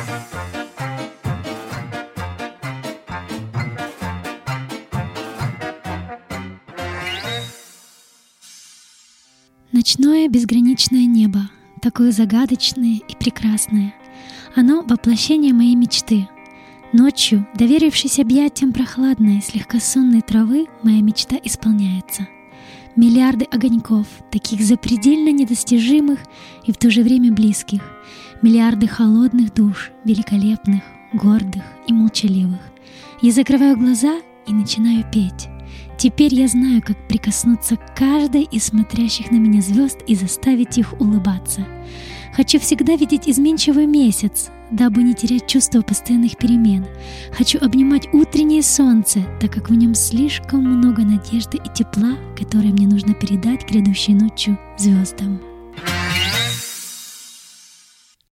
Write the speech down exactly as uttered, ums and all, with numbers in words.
Ночное безграничное небо, такое загадочное и прекрасное. Оно — воплощение моей мечты. Ночью, доверившись объятиям прохладной, слегка сонной травы, моя мечта исполняется. Миллиарды огоньков, таких запредельно недостижимых и в то же время близких. Миллиарды холодных душ, великолепных, гордых и молчаливых. Я закрываю глаза и начинаю петь. Теперь я знаю, как прикоснуться к каждой из смотрящих на меня звезд и заставить их улыбаться. Хочу всегда видеть изменчивый месяц, дабы не терять чувство постоянных перемен. Хочу обнимать утреннее солнце, так как в нем слишком много надежды и тепла, которое мне нужно передать грядущей ночью звездам.